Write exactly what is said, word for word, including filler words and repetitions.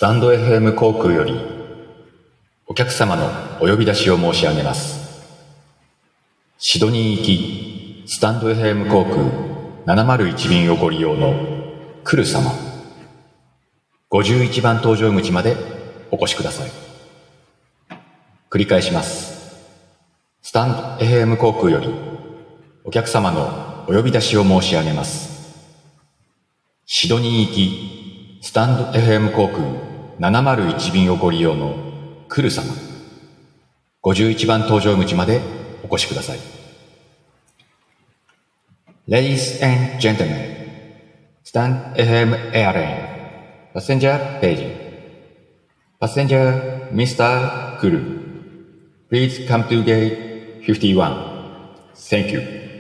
タンド エフエム 航空よりお客様のお呼び出しを申し上げます。シドニー行きスタンド エフエム 航空ななまるいち便をご利用のクル様、ごじゅういちばん搭乗口までお越しください。繰り返します。スタンド エフエム 航空よりお客様のお呼び出しを申し上げます。シドニー行きスタンド エフエム 航空ななまるいち便をご利用のクル様、ごじゅういちばん搭乗口までお越しください。Ladies and gentlemen, Stand エフエム Airline Passenger Page Passenger ミスター Kuru Please come to gate fifty-one. Thank you.